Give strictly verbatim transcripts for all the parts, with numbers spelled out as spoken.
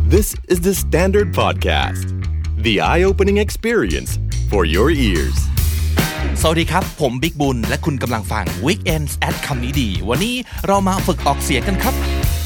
This is the Standard Podcast, the eye-opening experience for your ears. สวัสดีครับผมบิ๊กบุญและคุณกำลังฟัง Weekends at คำนี้ดีวันนี้เรามาฝึกออกเสียงกันครับ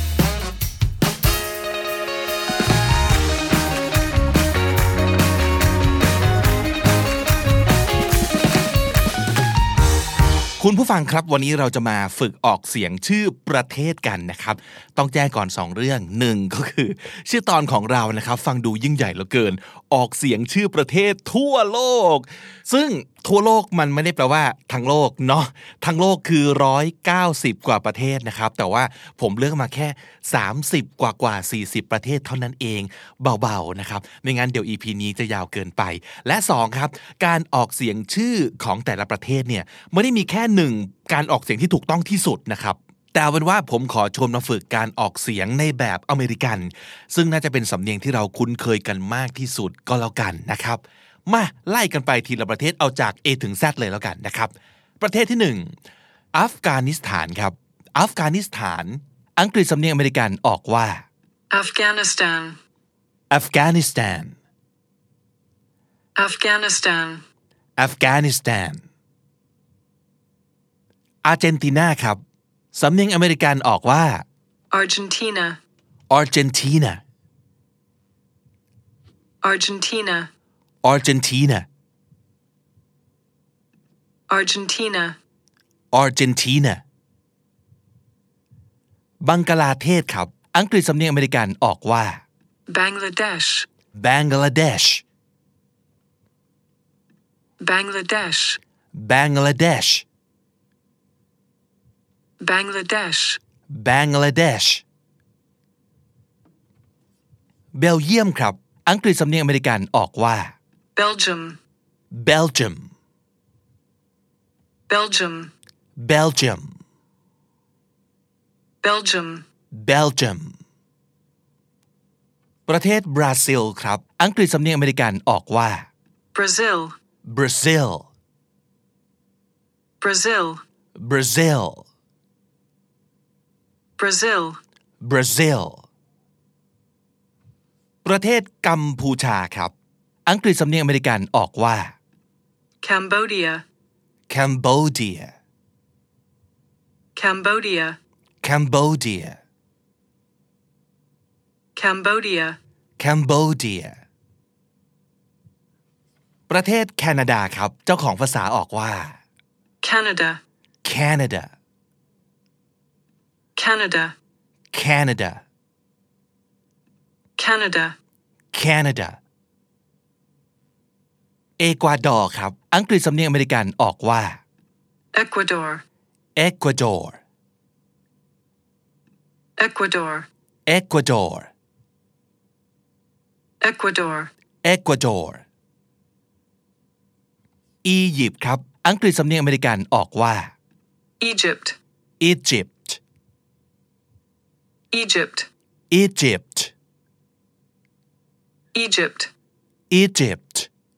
คุณผู้ฟังครับวันนี้เราจะมาฝึกออกเสียงชื่อประเทศกันนะครับต้องแจ้งก่อนสองเรื่องหนึ่งก็คือชื่อตอนของเรานะครับฟังดูยิ่งใหญ่เหลือเกินออกเสียงชื่อประเทศทั่วโลกซึ่งทั่วโลกมันไม่ได้แปลว่าทั้งโลกเนาะทั้งโลกคือหนึ่งร้อยเก้าสิบกว่าประเทศนะครับแต่ว่าผมเลือกมาแค่สามสิบกว่ากว่าสี่สิบประเทศเท่านั้นเองเบาๆนะครับไม่งั้นเดี๋ยว อี พี นี้จะยาวเกินไปและสองครับการออกเสียงชื่อของแต่ละประเทศเนี่ยไม่ได้มีแค่หนึ่งการออกเสียงที่ถูกต้องที่สุดนะครับแต่เป็นว่าผมขอชวนมาฝึกการออกเสียงในแบบอเมริกันซึ่งน่าจะเป็นสำเนียงที่เราคุ้นเคยกันมากที่สุดก็แล้วกันนะครับมาไล่กันไปทีละประเทศเอาจาก A ถึง Z เลยแล้วกันนะครับประเทศที่หนึ่งอัฟกานิสถานครับอัฟกานิสถานอังกฤษสำเนียงอเมริกันออกว่า Afghanistan Afghanistan Afghanistan Afghanistan อาร์เจนตินาครับสำเนียงอเมริกันออกว่า Argentina Argentina Argentina Argentina Argentina Argentina บังกลาเทศครับอังกฤษสำเนียงอเมริกันออกว่า Bangladesh Bangladesh Bangladesh Bangladesh Bangladesh Bangladesh เบลเยียมครับอังกฤษสำเนียงอเมริกันออกว่า Belgium Belgium Belgium Belgium Belgium Belgium ประเทศบราซิลครับอังกฤษสำเนียงอเมริกันออกว่า Brazil Brazil Brazil Brazil Brazil Brazil ประเทศกัมพูชาครับอังกฤษสำเนียงอเมริกันออกว่า Cambodia Cambodia Cambodia Cambodia Cambodia Cambodia ประเทศแคนาดาครับเจ้าของภาษาออกว่า Canada Canada Canada Canada Canada Canada เอกวาดอร์ครับอังกฤษสำเนียงอเมริกันออกว่า Ecuador Ecuador Ecuador Ecuador Ecuador Ecuador อียิปต์ครับอังกฤษสำเนียงอเมริกันออกว่า Egypt Egypt Egypt Egypt Egypt Egypt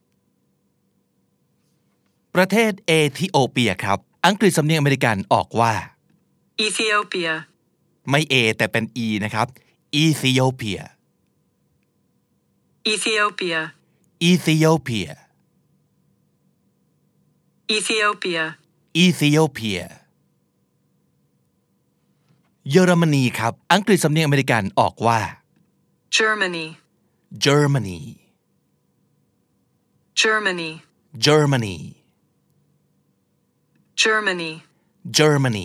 ประเทศเอธิโอเปียครับอังกฤษสำเนียงอเมริกันออกว่า Ethiopia ไม่เอแต่เป็นอีนะครับ Ethiopia Ethiopia Ethiopia Ethiopia Ethiopia เยอรมนีครับอังกฤษสำเนียงอเมริกันออกว่า Germany Germany Germany Germany Germany Germany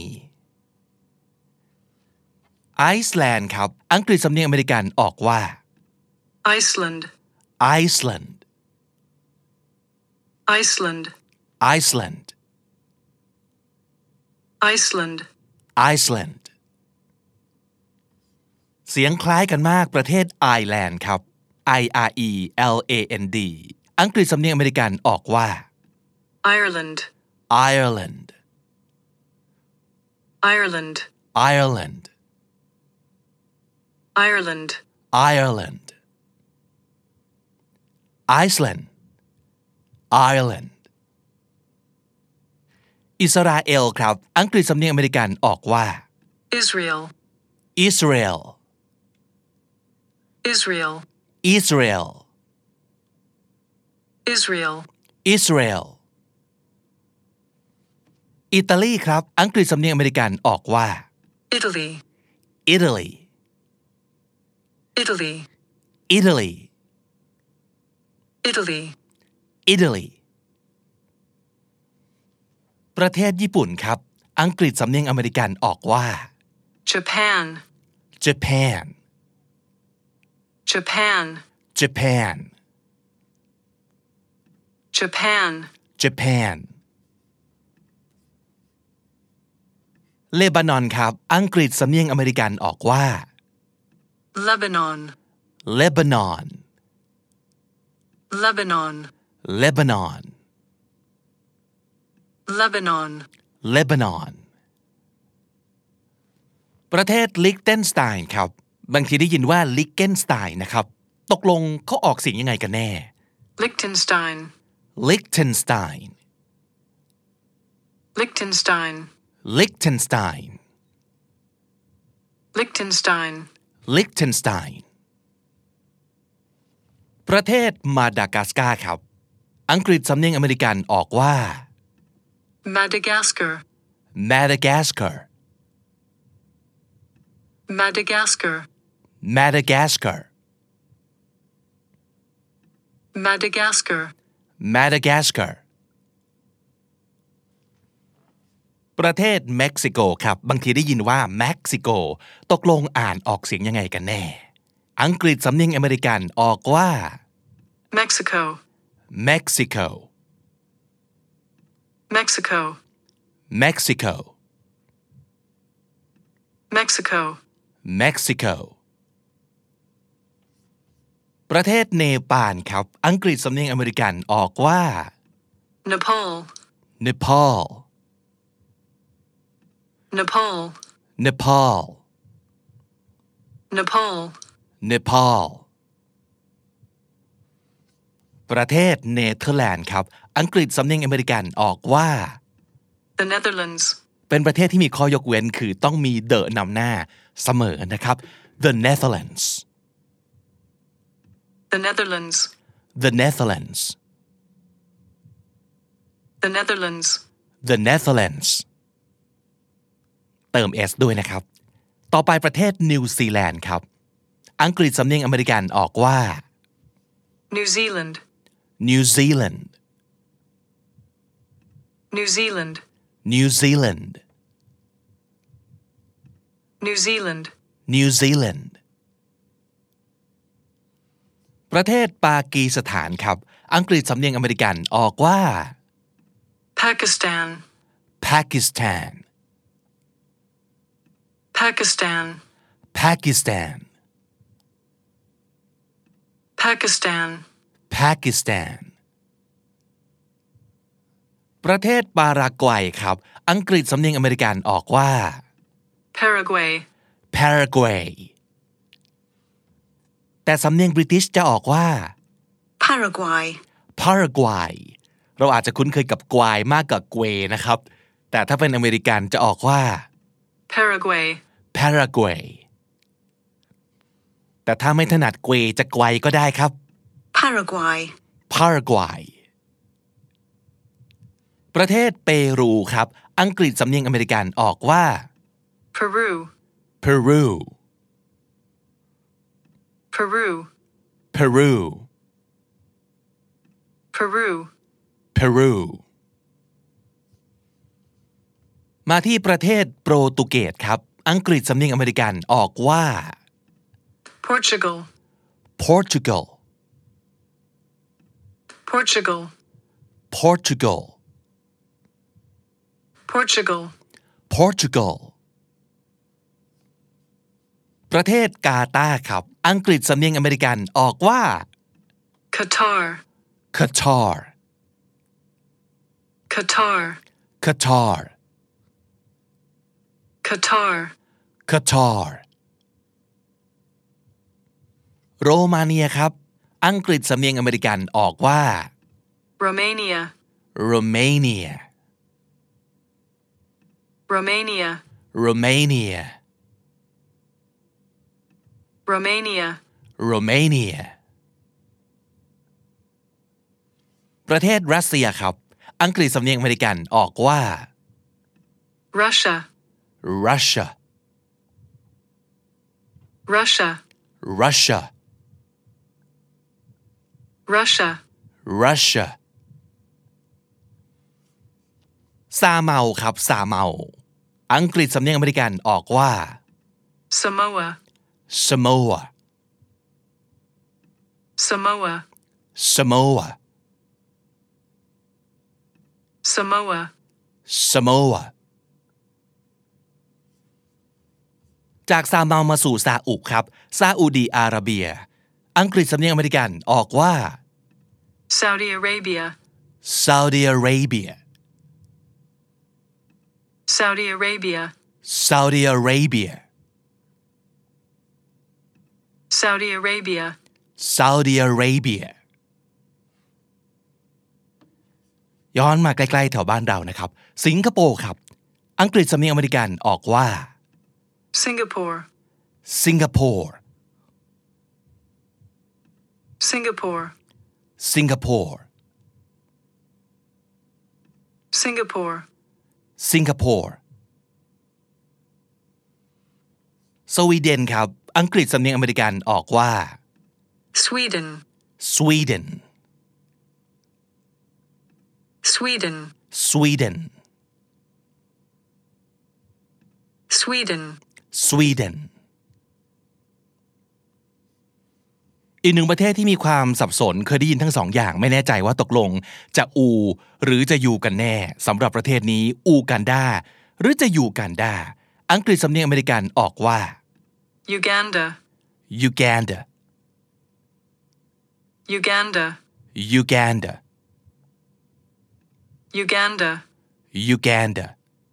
ไอซ์แลนด์ครับอังกฤษสำเนียงอเมริกันออกว่า Iceland Iceland Iceland Iceland Iceland Iceland เสียงคล้ายกันมากประเทศไอร์แลนด์ครับ I R E L A N D อังกฤษสำเนียงอเมริกันออกว่า Ireland Ireland Ireland Ireland Ireland Ireland Iceland Ireland อิสราเอลครับอังกฤษสำเนียงอเมริกันออกว่า Israel Israel Israel, Israel Israel, Israel อิตาลีครับอังกฤษสำเนียงอเมริกันออกว่า Italy, Italy Italy, Italy Italy, Italy ประเทศญี่ปุ่นครับอังกฤษสำเนียงอเมริกันออกว่า Japan, Japan Japan, Japan Japan, Japan เลบานอนครับอังกฤษสำเนียงอเมริกันออกว่า Lebanon, Lebanon Lebanon, Lebanon Lebanon, Lebanon ประเทศลิกเทนสไตน์ครับบางทีได้ยินว่าลิกเทนสไตน์นะครับตกลงเขาออกเสียงยังไงกันแน่ Liechtenstein, Liechtenstein Liechtenstein, Liechtenstein Liechtenstein, Liechtenstein ประเทศมาดากัสการ์ครับอังกฤษสำเนียงอเมริกันออกว่า Madagascar, Madagascar Madagascar, Madagascar Madagascar, Madagascar ประเทศเม็กซิโกครับบางทีได้ยินว่าเม็กซิโกตกลงอ่านออกเสียงยังไงกันแน่อังกฤษสำเนียงอเมริกันออกว่า Mexico, Mexico Mexico, Mexico Mexico, Mexico ประเทศเนปาลครับอังกฤษสำเนียงอเมริกันออกว่า Nepal, Nepal Nepal, Nepal Nepal, Nepal ประเทศเนเธอร์แลนด์ครับอังกฤษสำเนียงอเมริกันออกว่า The Netherlands, เป็นประเทศที่มีข้อยกเว้นคือต้องมี the นำหน้าเสมอนะครับ The Netherlands The Netherlands, The Netherlands The Netherlands, The Netherlands เติม s ด้วยนะครับต่อไปประเทศนิวซีแลนด์ครับอังกฤษสำเนียงอเมริกันออกว่า New Zealand, New Zealand New Zealand, New Zealand New Zealand, New Zealand ประเทศปากีสถานครับอังกฤษสำเนียงอเมริกันออกว่า Pakistan, Pakistan Pakistan, Pakistan Pakistan, Pakistan ประเทศปารากวัยครับอังกฤษสำเนียงอเมริกันออกว่า Paraguay, Paraguay แต่สำเนียงบริติชจะออกว่า Paraguay, Paraguay เราอาจจะคุ้นเคยกับกวายมากกว่าเกวนะครับแต่ถ้าเป็นอเมริกันจะออกว่า Paraguay, Paraguay แต่ถ้าไม่ถนัดเกวจะไกวก็ได้ครับ Paraguay, Paraguay ประเทศเปรูครับอังกฤษสำเนียงอเมริกันออกว่า Peru, Peru Peru, Peru Peru, Peru มาที่ประเทศโปรตุเกสครับอังกฤษสำเนียงอเมริกันออกว่า Portugal, Portugal Portugal, Portugal Portugal, Portugal ประเทศกาตาร์ครับอังกฤษสำเนียงอเมริกันออกว่า Qatar, Qatar Qatar, Qatar Qatar, Qatar โรมาเนียครับอังกฤษสำเนียงอเมริกันออกว่า Romania, Romania Romania, Romania Romania, Romania ประเทศรัสเซียครับอังกฤษสำเนียงอเมริกันออกว่า Russia Russia Russia Russia Russia Russia ซาเมาครับซาเมาอังกฤษสำเนียงอเมริกันออกว่า Samoa Samoa Samoa Samoa Samoa Samoa จากซาเมามาสู่ซาอุครับซาอุดีอาระเบียอังกฤษสำเนียงอเมริกันออกว่า Saudi Arabia Saudi Arabia Saudi Arabia Saudi Arabia Saudi Arabia Saudi Arabia ย้อนมาใกล้ๆแถวบ้านเรานะครับสิงคโปร์ครับอังกฤษสำเนียงอเมริกันออกว่า Singapore Singapore Singapore Singapore Singapore Singapore สวีเดนครับอังกฤษสำเนียงอเมริกันออกว่า Sweden Sweden Sweden Sweden Sweden Sweden อีกหนึ่งประเทศที่มีความสับสนเคยได้ยินทั้งสองอย่างไม่แน่ใจว่าตกลงจะอูหรือจะยูกันแน่สำหรับประเทศนี้อูกันดาหรือจะยูกันดาอังกฤษสำเนียงอเมริกันออกว่า Uganda Uganda Uganda Uganda Uganda Uganda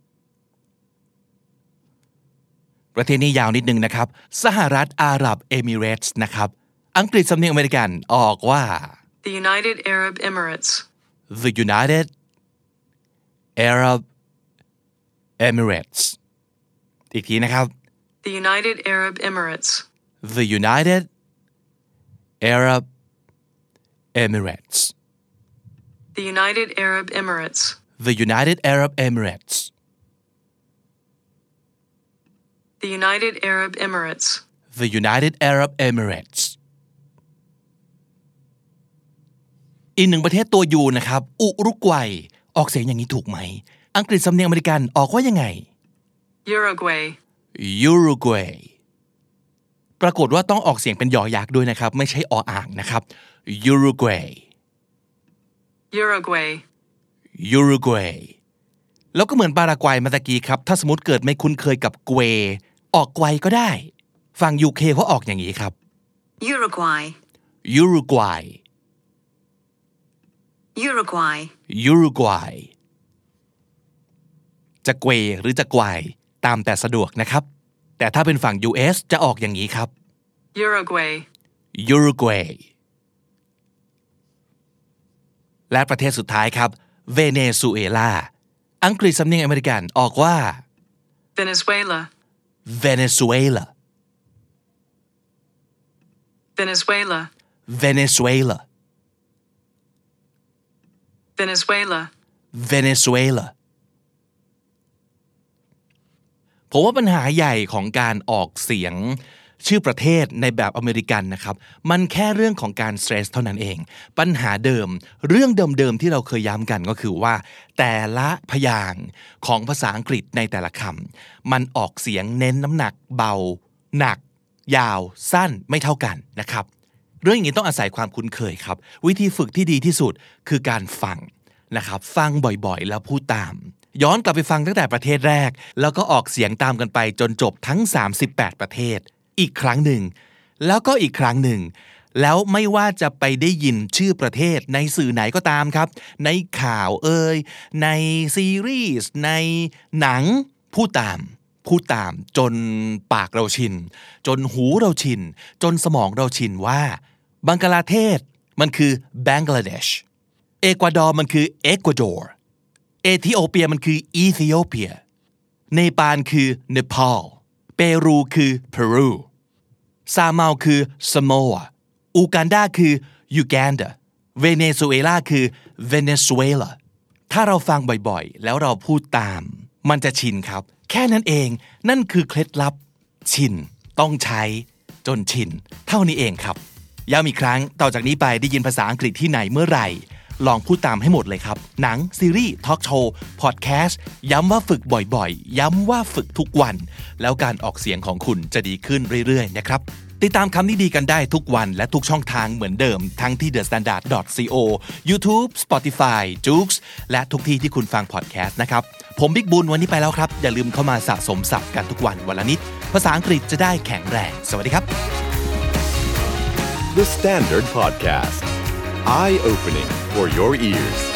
ประเทศนี้ยาวนิดนึงนะครับสหรัฐอาหรับเอมิเรตส์นะครับอังกฤษสำเนียงอเมริกันออกว่า The United Arab Emirates The United Arab Emirates อีกทีนะครับ The United Arab Emirates The United Arab Emirates The United Arab Emirates The United Arab Emirates The United Arab Emirates The United Arab Emirates อีกหนึ่งประเทศตัวยูนะครับอุรุกวัยออกเสียงอย่างนี้ถูกไหมอังกฤษสำเนียงอเมริกันออกว่ายังไง Uruguay Uruguay ปรากฏว่าต้องออกเสียงเป็นยอยักษ์ด้วยนะครับไม่ใช่ออ่างนะครับ Uruguay Uruguay Uruguay แล้วก็เหมือนปารากวัยเมื่อกี้ครับถ้าสมมติเกิดไม่คุ้นเคยกับเกวออกไกวก็ได้ฝั่ง ยู เค เขาออกอย่างนี้ครับ Uruguay Uruguay Uruguay Uruguay จะเกวหรือจะไกวตามแต่สะดวกนะครับแต่ถ้าเป็นฝั่ง ยู เอส จะออกอย่างนี้ครับ Uruguay Uruguay และประเทศสุดท้ายครับเวเนซุเอลาอังกฤษสำเนียงอเมริกันออกว่า Venezuela Venezuela Venezuela Venezuela Venezuela Venezuela ผมว่าปัญหาใหญ่ของการออกเสียงชื่อประเทศในแบบอเมริกันนะครับมันแค่เรื่องของการสเตรสเท่านั้นเองปัญหาเดิมเรื่องเดิมๆที่เราเคยย้ำกันก็คือว่าแต่ละพยางค์ของภาษาอังกฤษในแต่ละคำมันออกเสียงเน้นน้ำหนักเบาหนักยาวสั้นไม่เท่ากันนะครับเรื่องอย่างนี้ต้องอาศัยความคุ้นเคยครับวิธีฝึกที่ดีที่สุดคือการฟังนะครับฟังบ่อยๆแล้วพูดตามย้อนกลับไปฟังตั้งแต่ประเทศแรกแล้วก็ออกเสียงตามกันไปจนจบทั้งสามสิบแปดประเทศอีกครั้งหนึ่งแล้วก็อีกครั้งหนึ่งแล้วไม่ว่าจะไปได้ยินชื่อประเทศในสื่อไหนก็ตามครับในข่าวเอ่ยในซีรีส์ในหนังพูดตามพูดตามจนปากเราชินจนหูเราชินจนสมองเราชินว่าบังกลาเทศมันคือบังกลาเดชเอกวาดอร์มันคือเอกวาดอร์เอธิโอเปียมันคืออีธิโอเปียเนปาลคือเนปาลเปรูคือเปรูซาเมาคือ Samoa อูกันดาคือ Uganda เวเนซุเอลาคือ Venezuela ถ้าเราฟังบ่อยๆแล้วเราพูดตามมันจะชินครับแค่นั้นเองนั่นคือเคล็ดลับชินต้องใช้จนชินเท่านี้เองครับย้ำอีกครั้งต่อจากนี้ไปได้ยินภาษาอังกฤษที่ไหนเมื่อไหร่ลองพูดตามให้หมดเลยครับหนังซีรีส์ทอล์กโชว์พอดแคสต์ย้ำว่าฝึกบ่อยๆย้ำว่าฝึกทุกวันแล้วการออกเสียงของคุณจะดีขึ้นเรื่อยๆนะครับติดตามคำนี้ดีกันได้ทุกวันและทุกช่องทางเหมือนเดิมทั้งที่ เดอะ สแตนดาร์ด ดอท ซี โอ YouTube Spotify Joox และทุกที่ที่คุณฟังพอดแคสต์นะครับผมบิ๊กบุญวันนี้ไปแล้วครับอย่าลืมเข้ามาสะสมศัพท์กันทุกวันวันละนิดภาษาอังกฤษจะได้แข็งแรงสวัสดีครับ The Standard Podcast Eye Opening for Your Ears